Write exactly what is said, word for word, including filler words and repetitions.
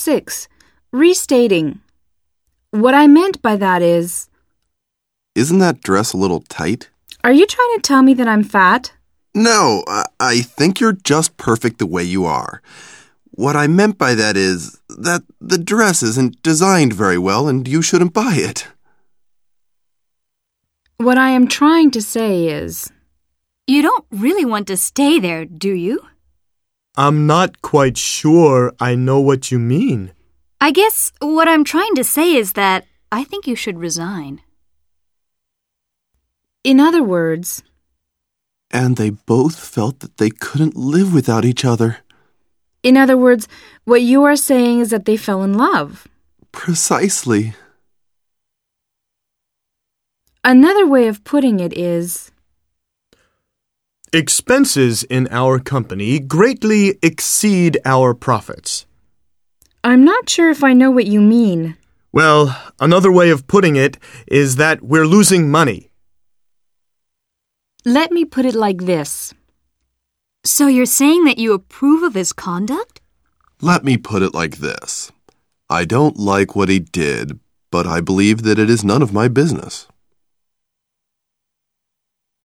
six. Restating. What I meant by that is... Isn't that dress a little tight? Are you trying to tell me that I'm fat? No, I, I think you're just perfect the way you are. What I meant by that is that the dress isn't designed very well and you shouldn't buy it. What I am trying to say is... You don't really want to stay there, do you? I'm not quite sure I know what you mean. I guess what I'm trying to say is that I think you should resign. In other words... And they both felt that they couldn't live without each other. In other words, what you are saying is that they fell in love. Precisely. Another way of putting it is... Expenses in our company greatly exceed our profits. I'm not sure if I know what you mean. Well, another way of putting it is that we're losing money. Let me put it like this. So you're saying that you approve of his conduct? Let me put it like this. I don't like what he did, but I believe that it is none of my business.